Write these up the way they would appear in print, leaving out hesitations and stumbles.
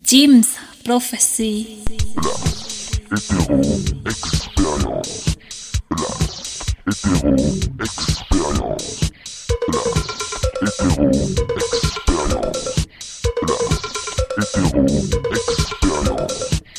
Jim's Prophecy. La hétéro-expérience. La hétéro-expérience. La hétéro-expérience. La hétéro-expérience.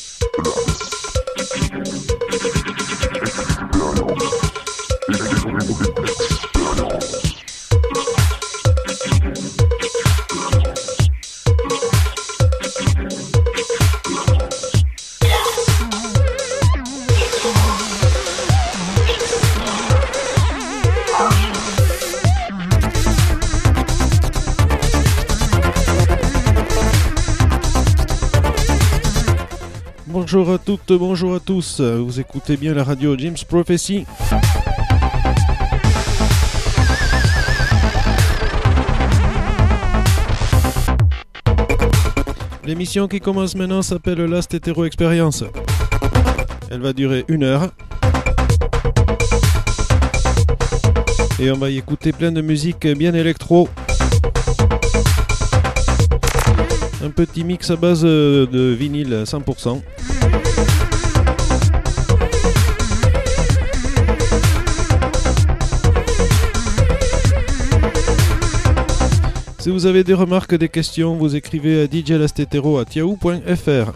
Bonjour à toutes, bonjour à tous, vous écoutez bien la radio Jim's Prophecy. L'émission qui commence maintenant s'appelle Last Hétéro Experience. Elle va durer 1 heure. Et on va y écouter plein de musique bien électro. Un petit mix à base de vinyle 100%. Si vous avez des remarques, des questions, vous écrivez à djlastetero@yahoo.fr.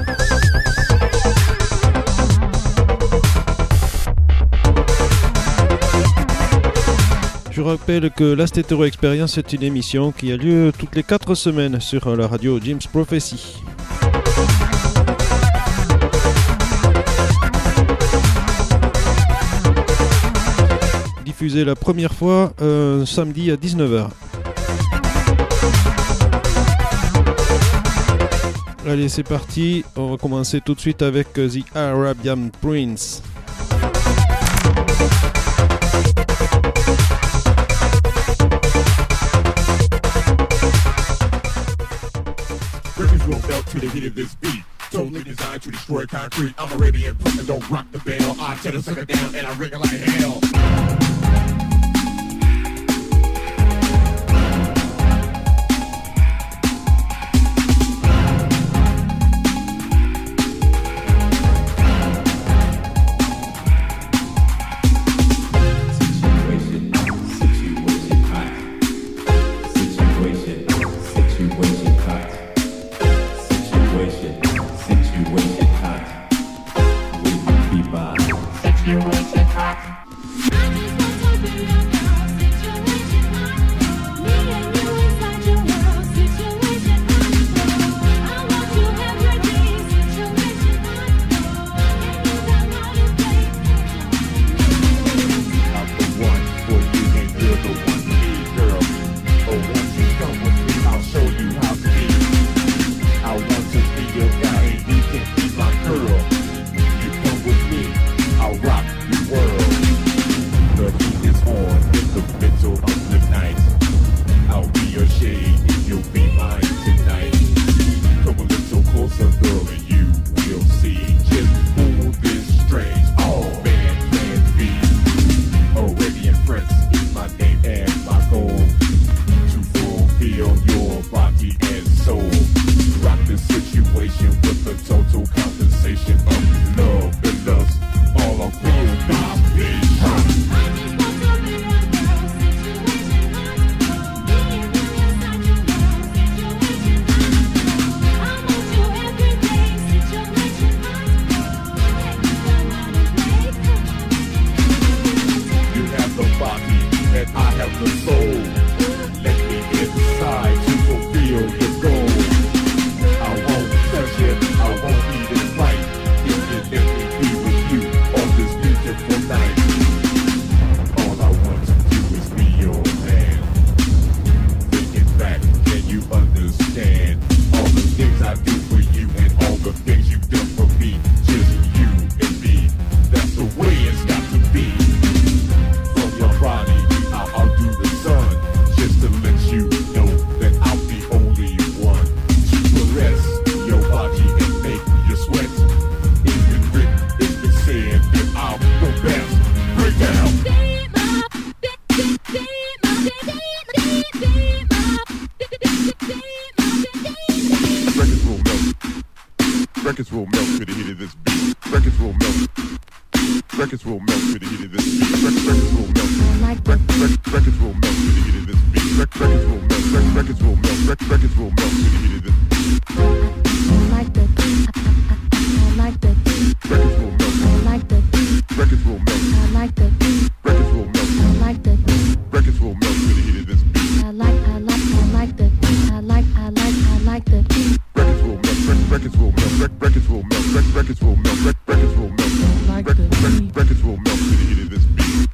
Je rappelle que Last Hétéro Experience est une émission qui a lieu toutes les 4 semaines sur la radio Jim's Prophecy. Diffusée la première fois samedi à 19h. Allez, c'est parti. On va commencer tout de suite avec The Arabian Prince. Will belt to the heat of this beat. Totally designed to destroy concrete. I'm Arabian Prince and don't rock the bell. I tell the sucker down and I ring it like hell. My Records will melt to the heat of this beat. Records will melt. Records will melt to the heat of this beat. Records will melt. Records will melt to the heat of this beat. Records will melt. Records will melt. Records will melt to the heat of this beat. I like the beat. I like the beat. Records will melt. I like the beat. Records will melt. I like the beat. Records will melt. I like the beat. Records will melt to the heat of this beat. I like the beat. I like the beat. Records will melt. Records will melt. Records will melt. Records will melt. Records will melt. I like the beat. Records will melt to the heat of this beat.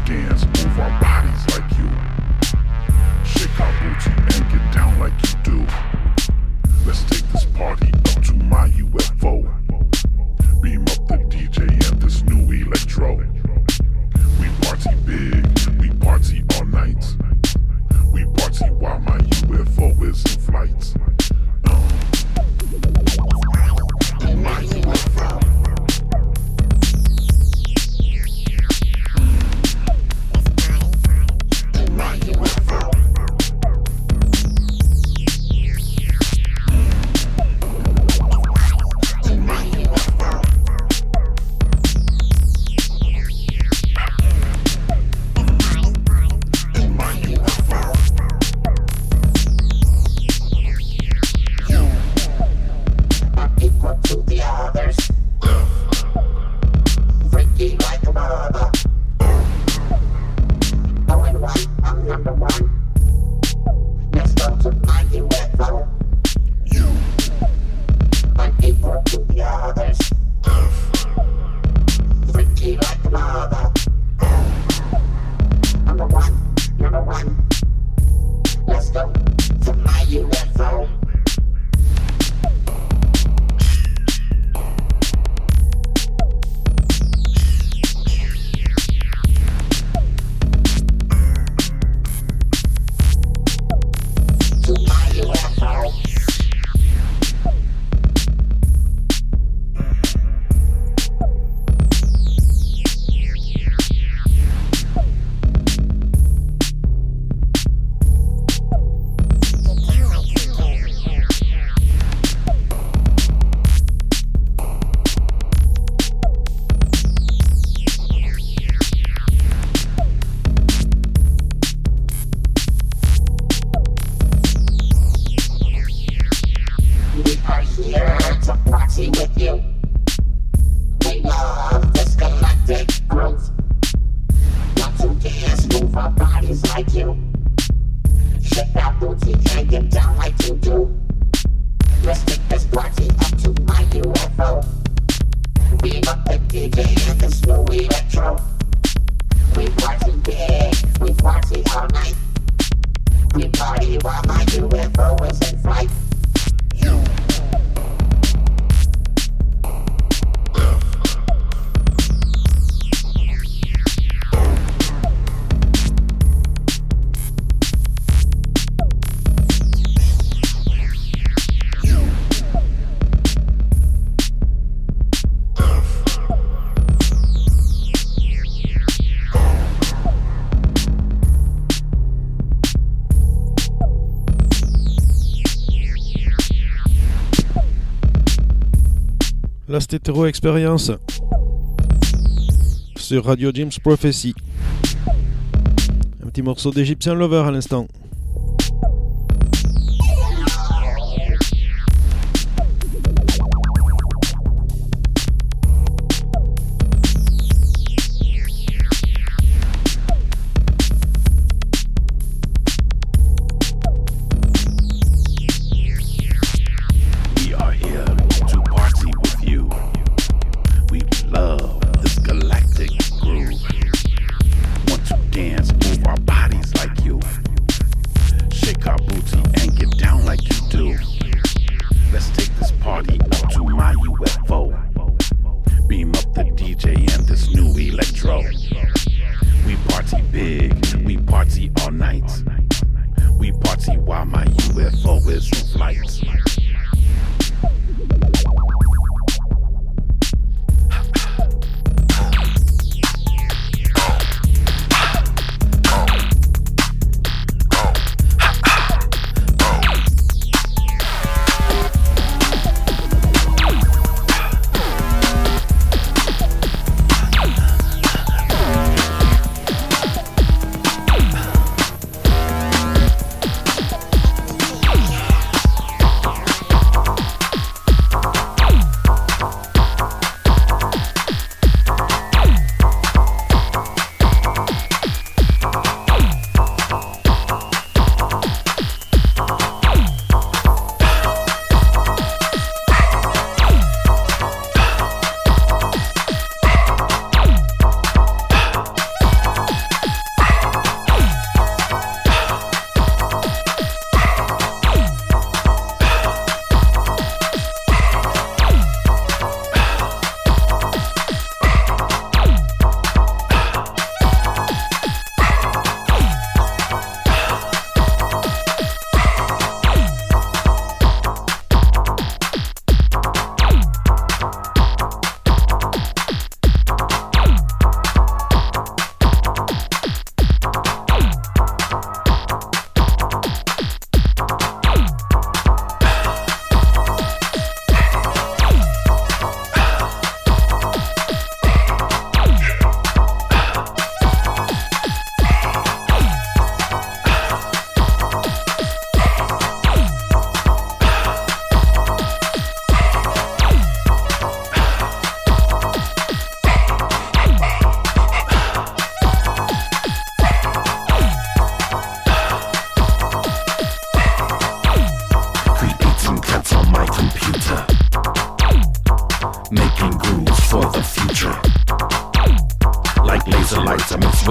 dance, move our bodies like you. Shake our booty and get down like you do. Let's take this party up to my UFO. Beam up the DJ and this new electro. We party big, we party all night. We party while my UFO is in flight. My UFO. My UFO. La Stétéro Experience sur Radio Jim's Prophecy. Un petit morceau d'Egyptian Lover à l'instant.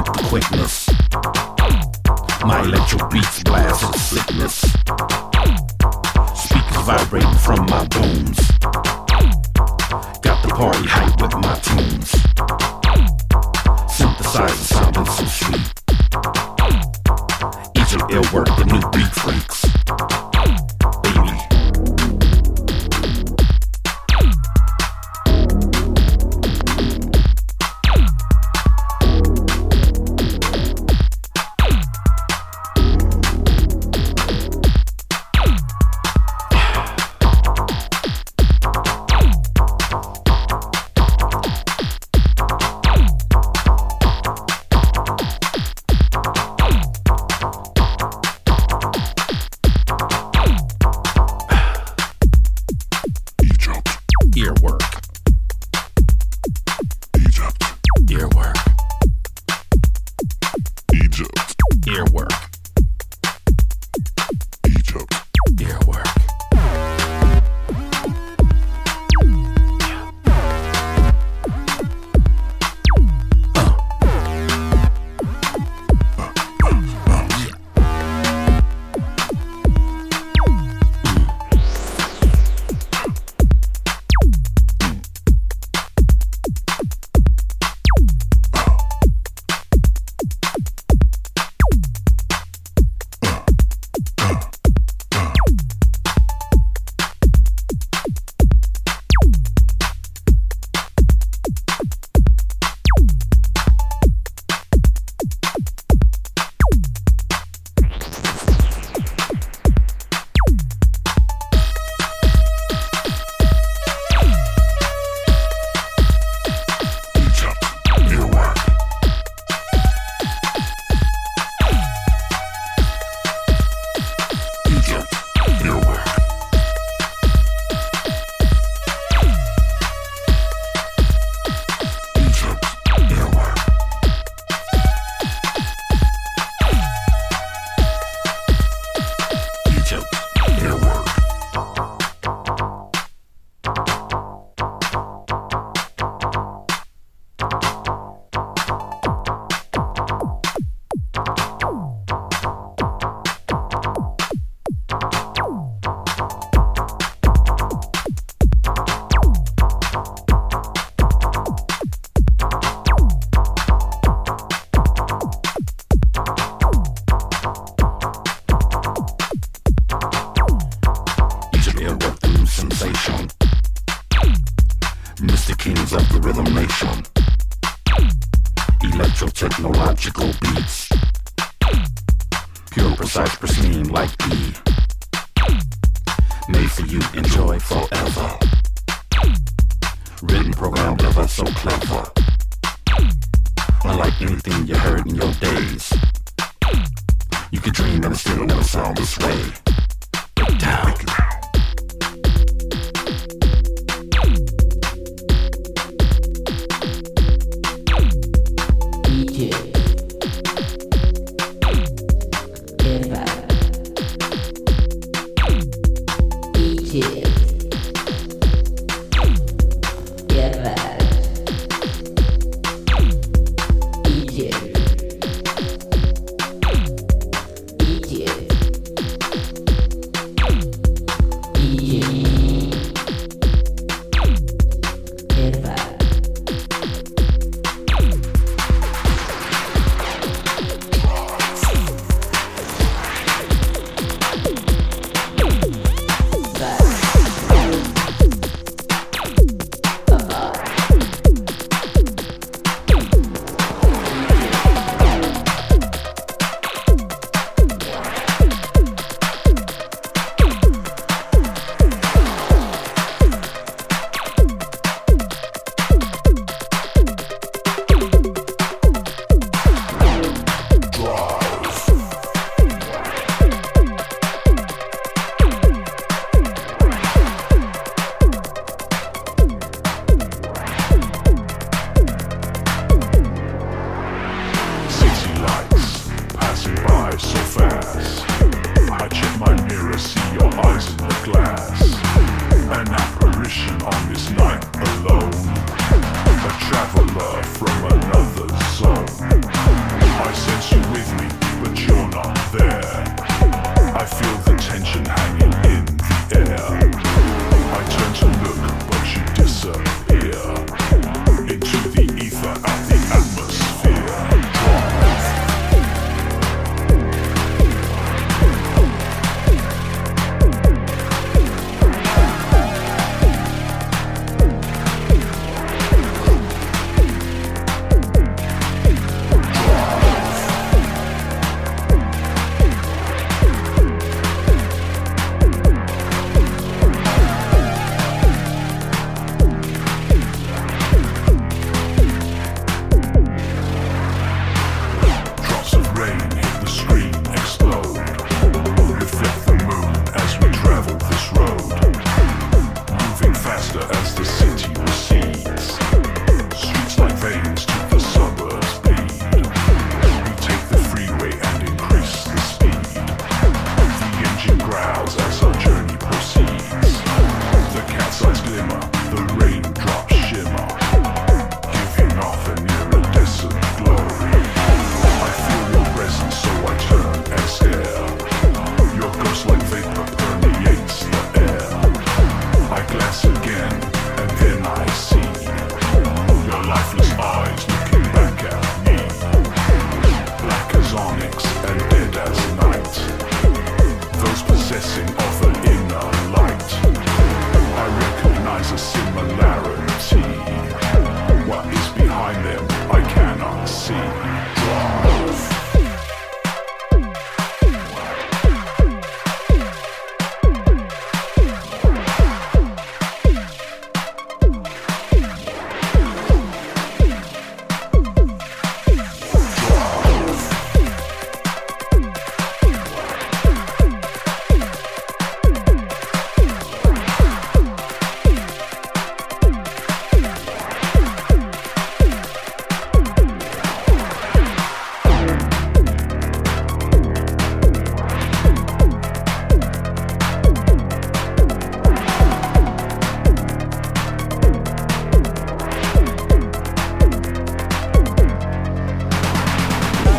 with the quickness. My electro beats blast with sickness. Speakers vibrating from my bones. Got the party hype with my tunes. Synthesizer sounding so sweet. Each of ill work, the new beat freaks. Baby. traveler from another zone.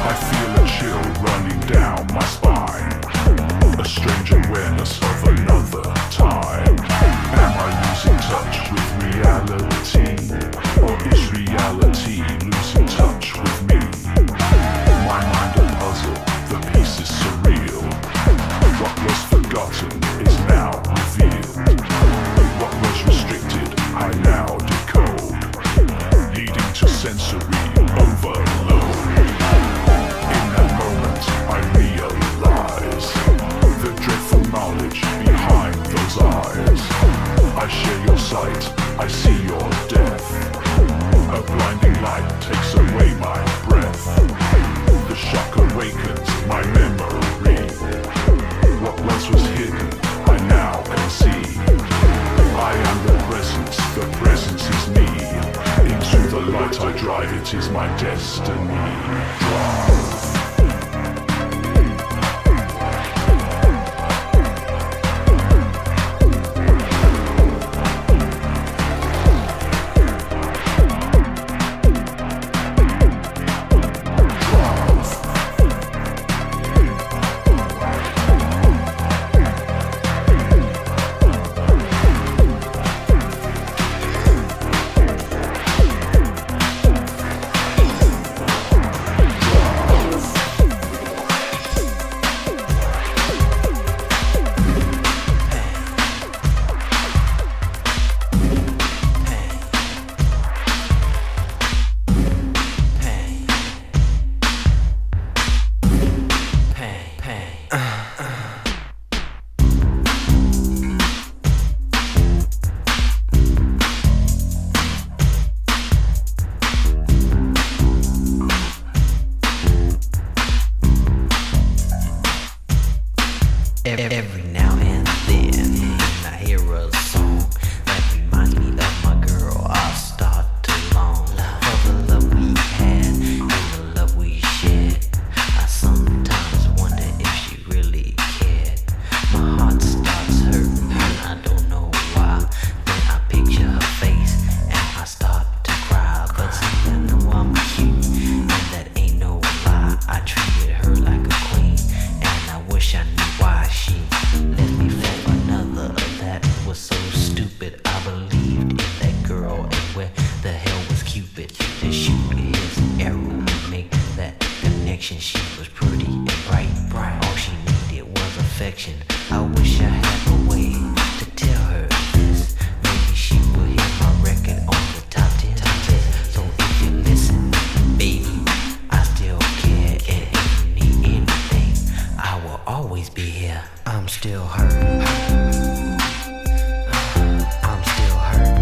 I feel a chill running down my spine, a strange awareness of another time. Am I losing touch with reality, or is reality losing touch with me? My mind a puzzle, the pieces surreal. What was forgotten is now revealed. What was restricted, I now decode, leading to sensory overload. In that moment, I realize the dreadful knowledge behind those eyes. I share your sight, I see your death. A blinding light takes away my breath. The shock awakens my memory. What once was hidden, I now can see. I am the presence is me. Into the light I drive, it is my destiny. Drive. Every now and then I hear a song that reminds me of my girl. I start to long for the love we had and the love we shared. I sometimes wonder if she really cared. My heart starts hurting and I don't know why. Then I picture her face and I start to cry. But see, I know I'm cute and that ain't no lie. I treated her like a queen and I wish I knew why she left me for another. That was so stupid. I believed in that girl, and where the hell was Cupid to shoot his arrow and make that connection? She was pretty and bright. All she needed was affection. I wish I had a way to tell her this. Maybe she will hear my record on the top 10 list. So if you listen, baby, I still care, and if you need anything, I will always be here. I'm still hurt. I'm still hurt.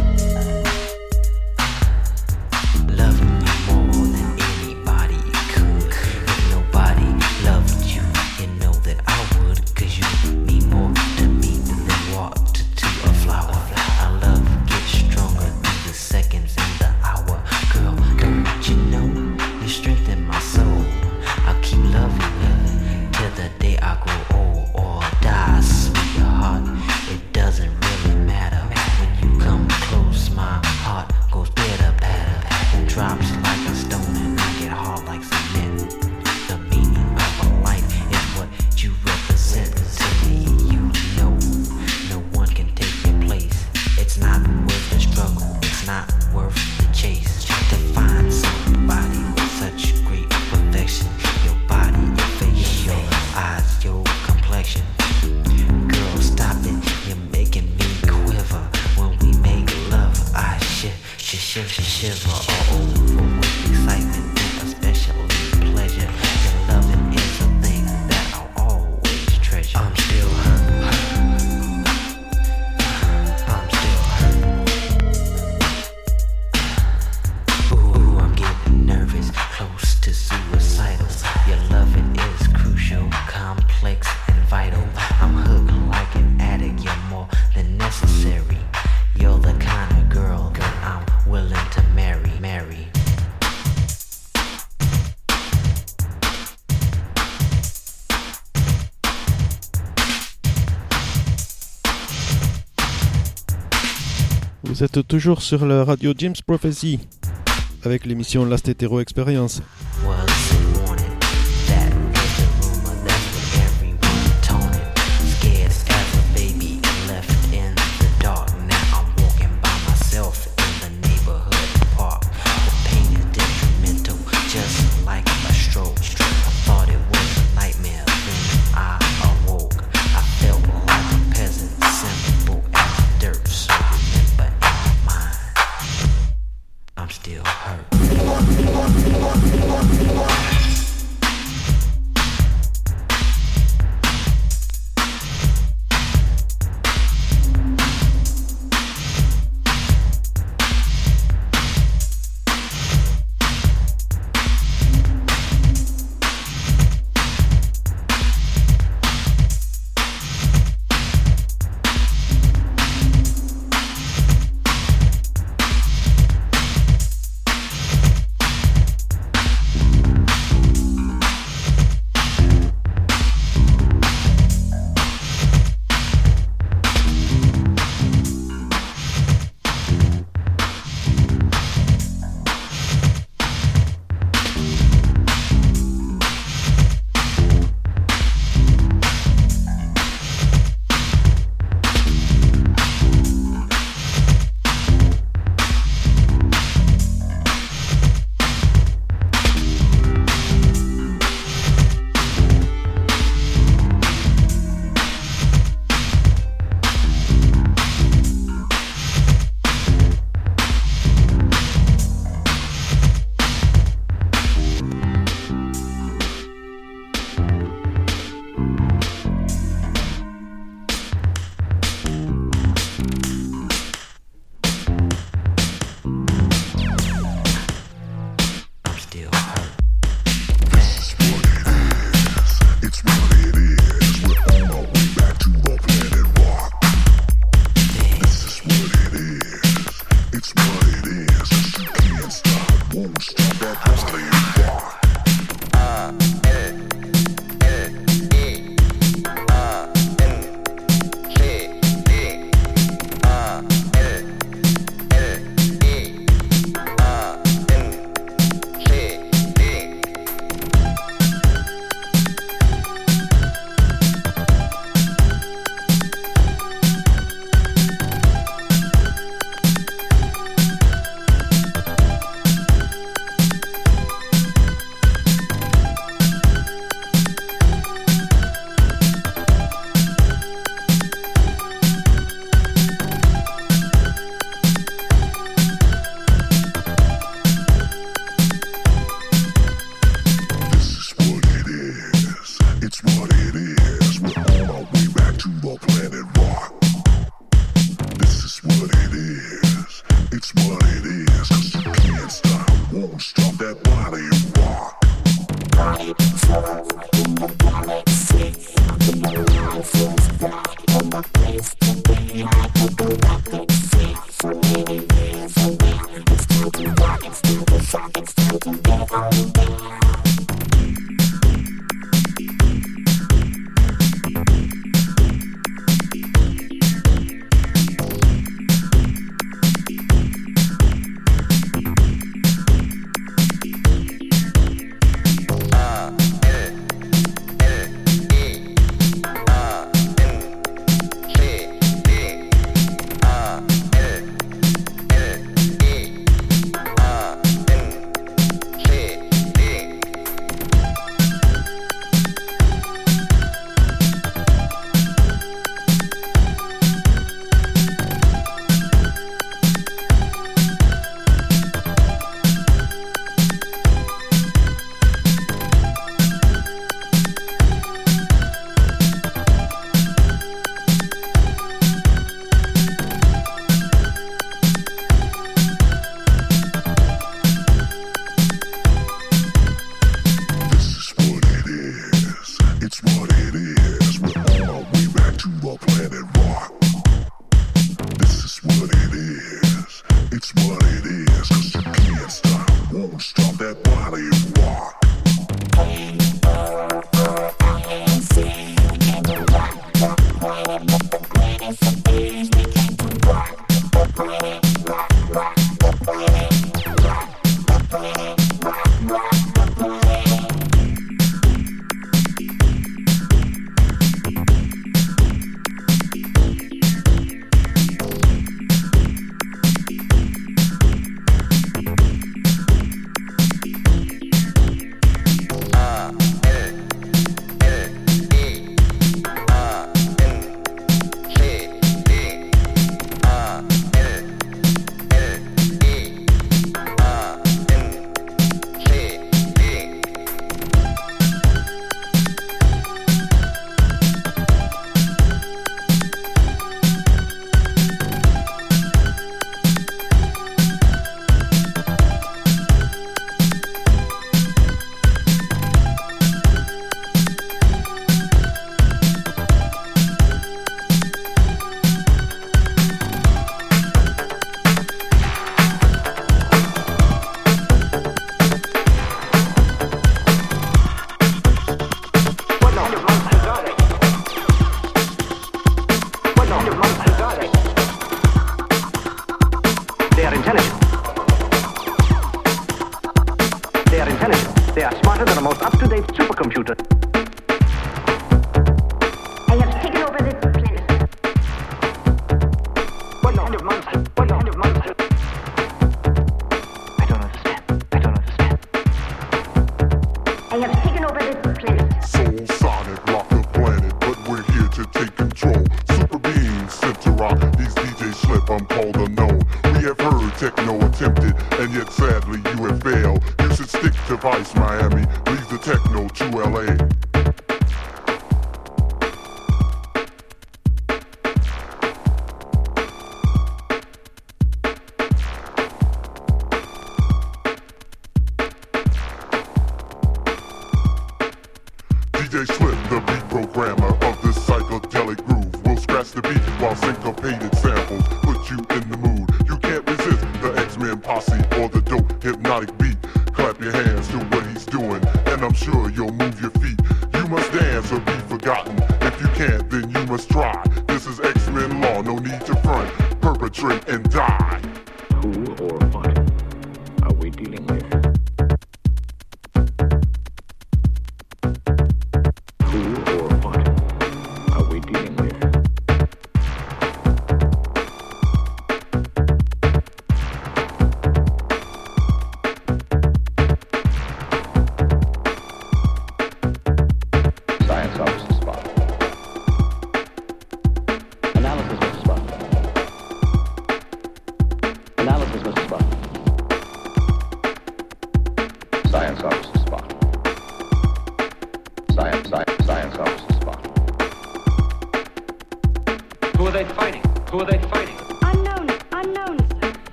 Loving you more than anybody could. If nobody loved you, you know that I would. 'Cause you mean more to me than water to a flower. Our love gets stronger through the seconds and the hour. Girl, don't you know you strengthen my soul? I'll keep loving you till the day I grow old or die. Sweetheart, it doesn't really matter. When you come close, my heart goes pitter-patter and drops like a stone, and I get hard like cement. The meaning of a life is what you represent to me. You know, no one can take your place. It's not worth the struggle, it's not worth the chase. To find somebody with such great perfection, your body, your face, your eyes, your complexion. Girl, stop it, you're making me quiver. When we make love, I shiver all over with excitement and especially pleasure. Your loving is a thing that I'll always treasure. I'm still hurt. I'm still hurt. Ooh, I'm getting nervous, close to suicidal. Your loving is crucial, complex and vital. I'm hooked like an addict, you're more than necessary. You're the kind of girl that I'm willing to marry. Vous êtes toujours sur la radio James Prophecy avec l'émission Last Hetero Experience. Was it one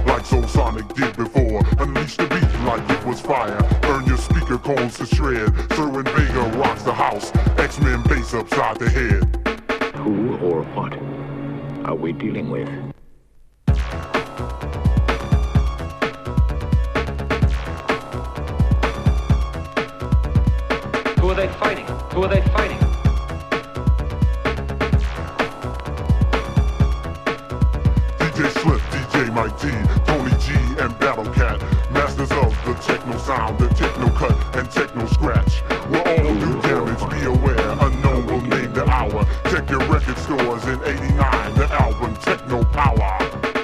like Soul Sonic did before. Unleash the beat like it was fire. Burn your speaker cones to shred. Sherwin Vega rocks the house. X-Men bass upside the head. Who or what are we dealing with? Who are they fighting? Who are they fighting? DJ Slip, DJ Mike T, Tony G, and Battle Cat. Masters of the techno sound, the techno cut, and techno scratch. We'll all do damage, be aware. Unknown will name the hour. Check your record stores in 89, the album Techno Power.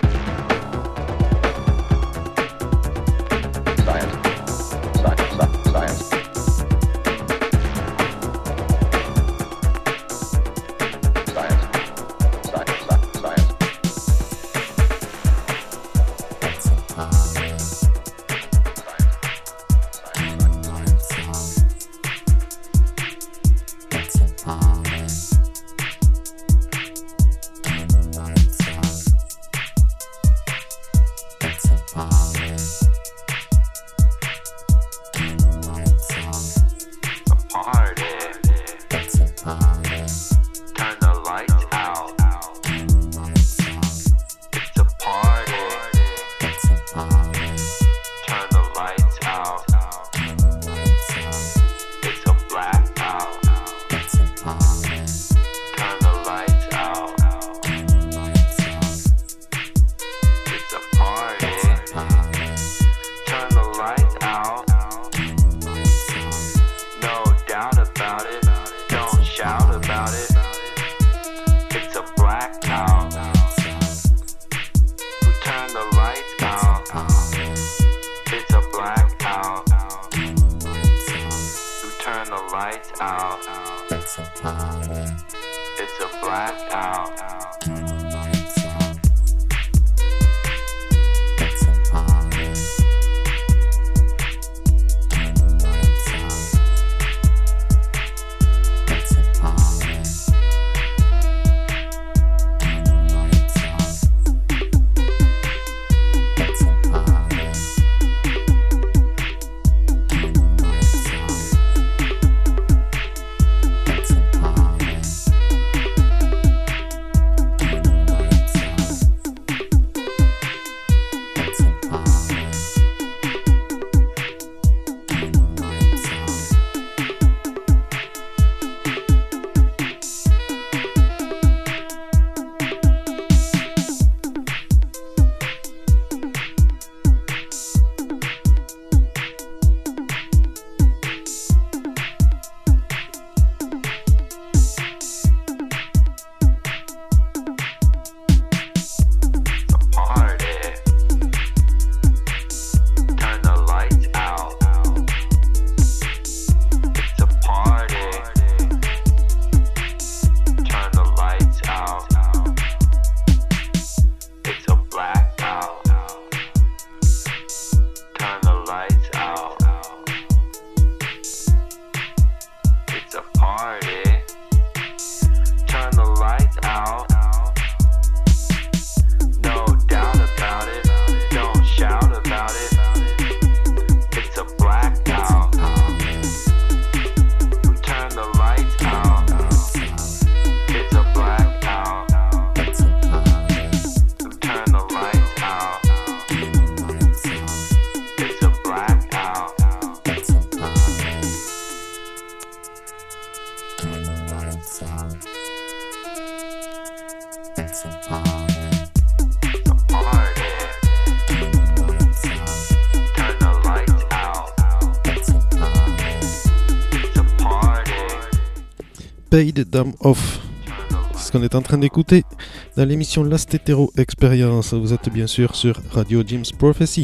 Paid Them Off. C'est ce qu'on est en train d'écouter dans l'émission Last Hetero Experience. Vous êtes bien sûr sur Radio Jim's Prophecy.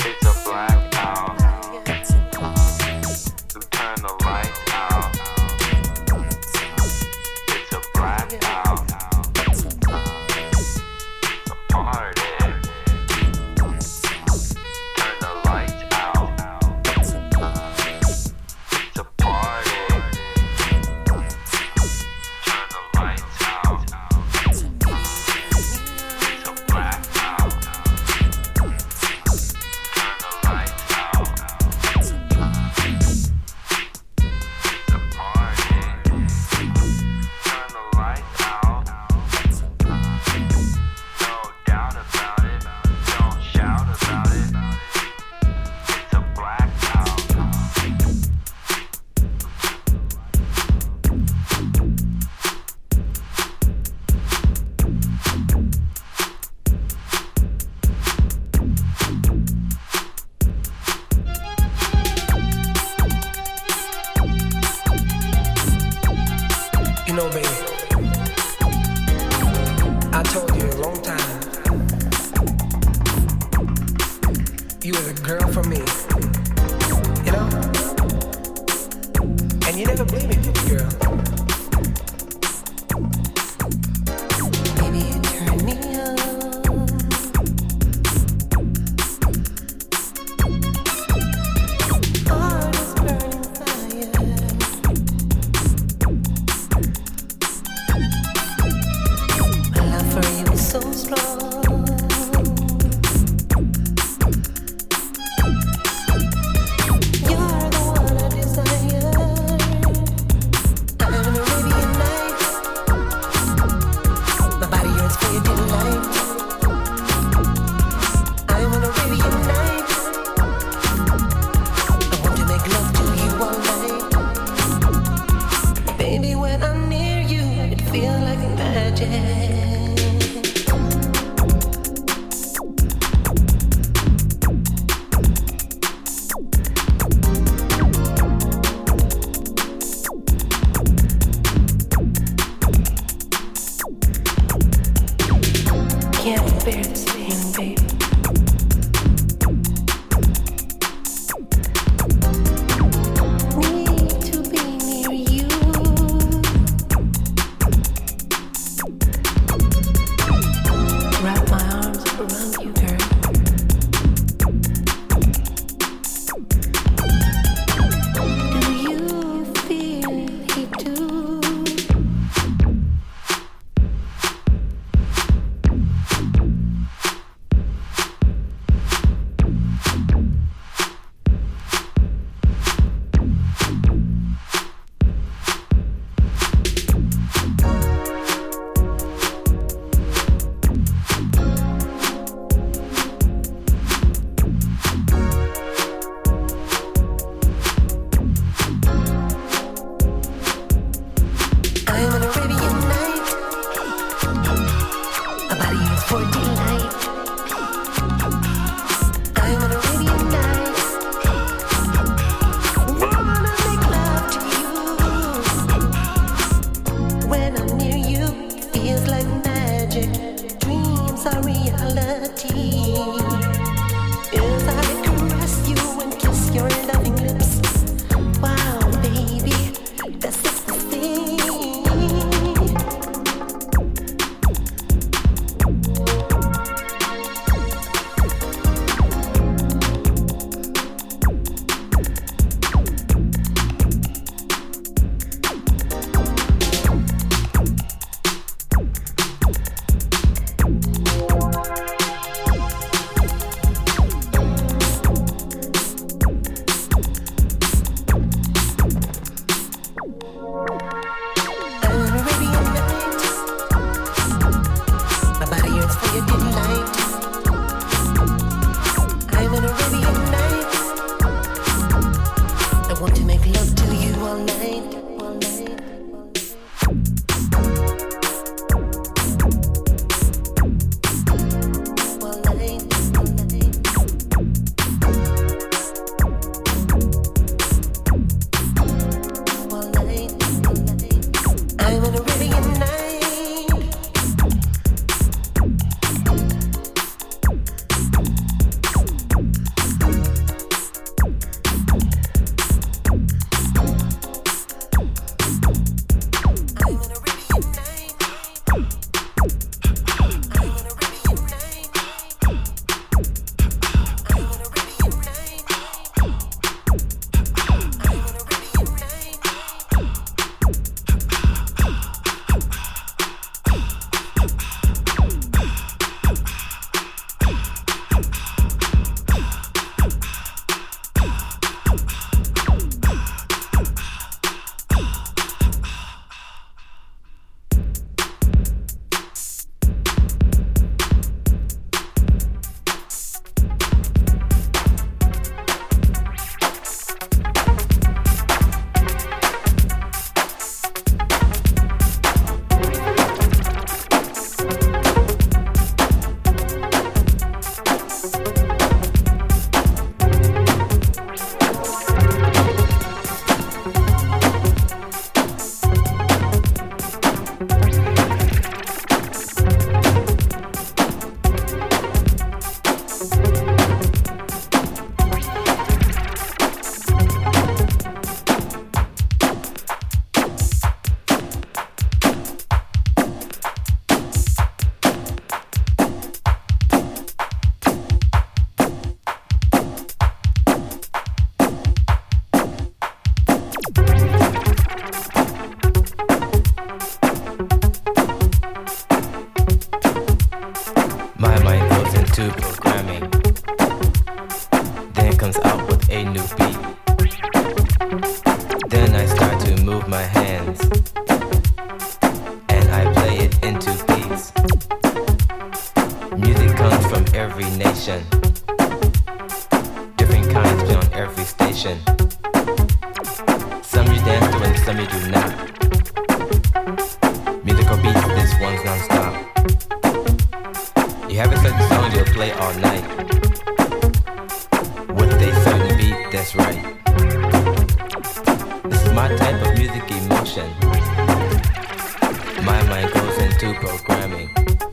Turn the lights out. You know, baby, I told you a long time, you was a girl for me, you know? And you never believed me, girl. Baby, you turn me on. Heart is burning fire. My love for you is so strong. You're the one I desire. I'm an Arabian night. My body yearns for your delight. I'm an Arabian night. I want to make love to you all night. Baby, when I'm near you, it feels like magic. Can't bear this feeling, baby. Need to be near you. Wrap my arms around you, girl. Do you feel it too? I'm an Arabian night. My body yearns for delight. I'm an Arabian night. Wanna make love to you. When I'm near you, it feels like magic. Dreams are reality. As I caress you and kiss your loving lips. Wow, baby, that's ecstasy. I'm an Arabian night. My body yearns for your delight. I'm an Arabian night. I want to make love to you all night. All night. All night. All night. All night. I'm an Arabian night. I'm an Arabian night. I'm an Arabian night. I'm an Arabian night. I'm an Arabian night. motion. Different kinds be on every station. Some you dance to and some you do not. Musical beats, this one's non-stop. You have a certain song you'll play all night. With a certain beat, that's right. This is my type of music emotion. My mind goes into programming.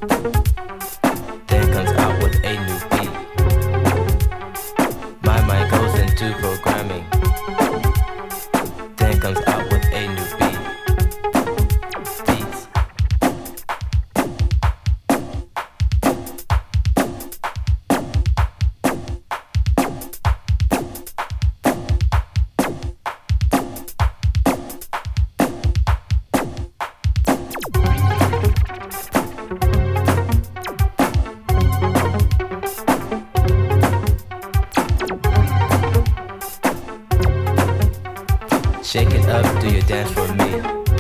Then comes out with a new beat. My mind goes into programming. Then comes out with a new beat. Beats. Shake it up, do your dance for me.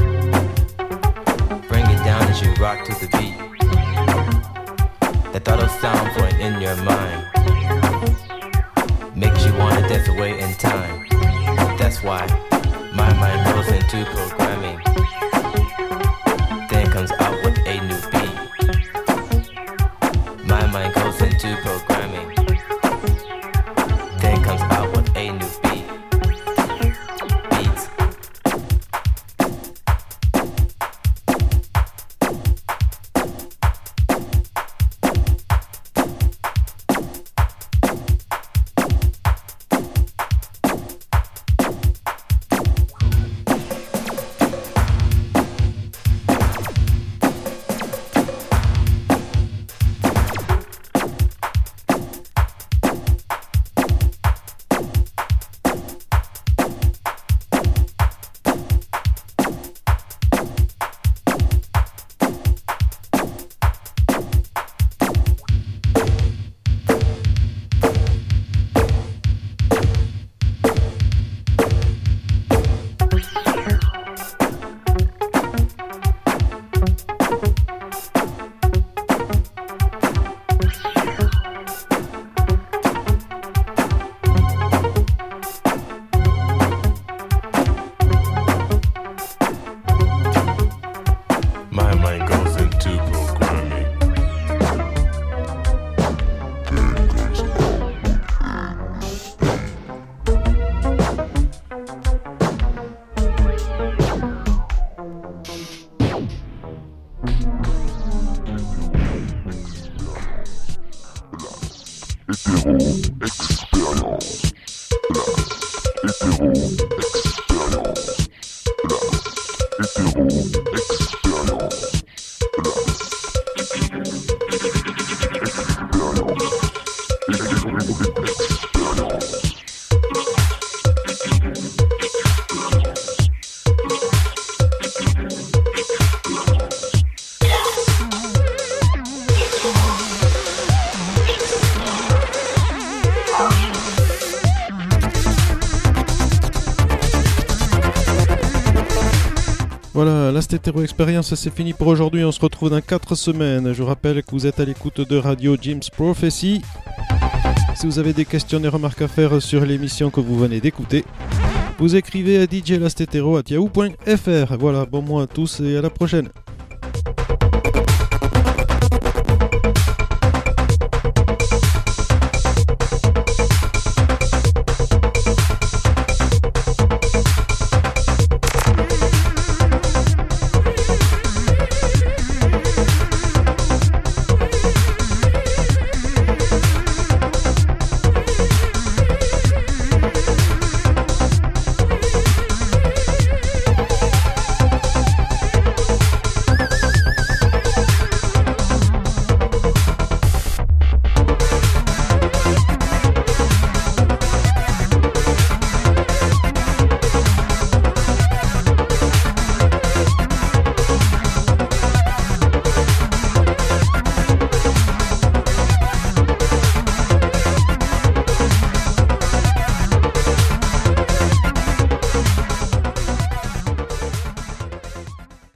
Bring it down as you rock to the beat. That thought of sound flowing in your mind makes you wanna dance away in time. That's why my mind goes into programming. Then comes out with a new beat. My mind goes into programming. Then comes out with a new beat. Beats. My mind goes into programming. Voilà, la Stétéro Experience, c'est fini pour aujourd'hui. On se retrouve dans 4 semaines. Je vous rappelle que vous êtes à l'écoute de Radio Jim's Prophecy. Si vous avez des questions et remarques à faire sur l'émission que vous venez d'écouter, vous écrivez à djlastetero@yahoo.fr. Voilà, bon mois à tous et à la prochaine.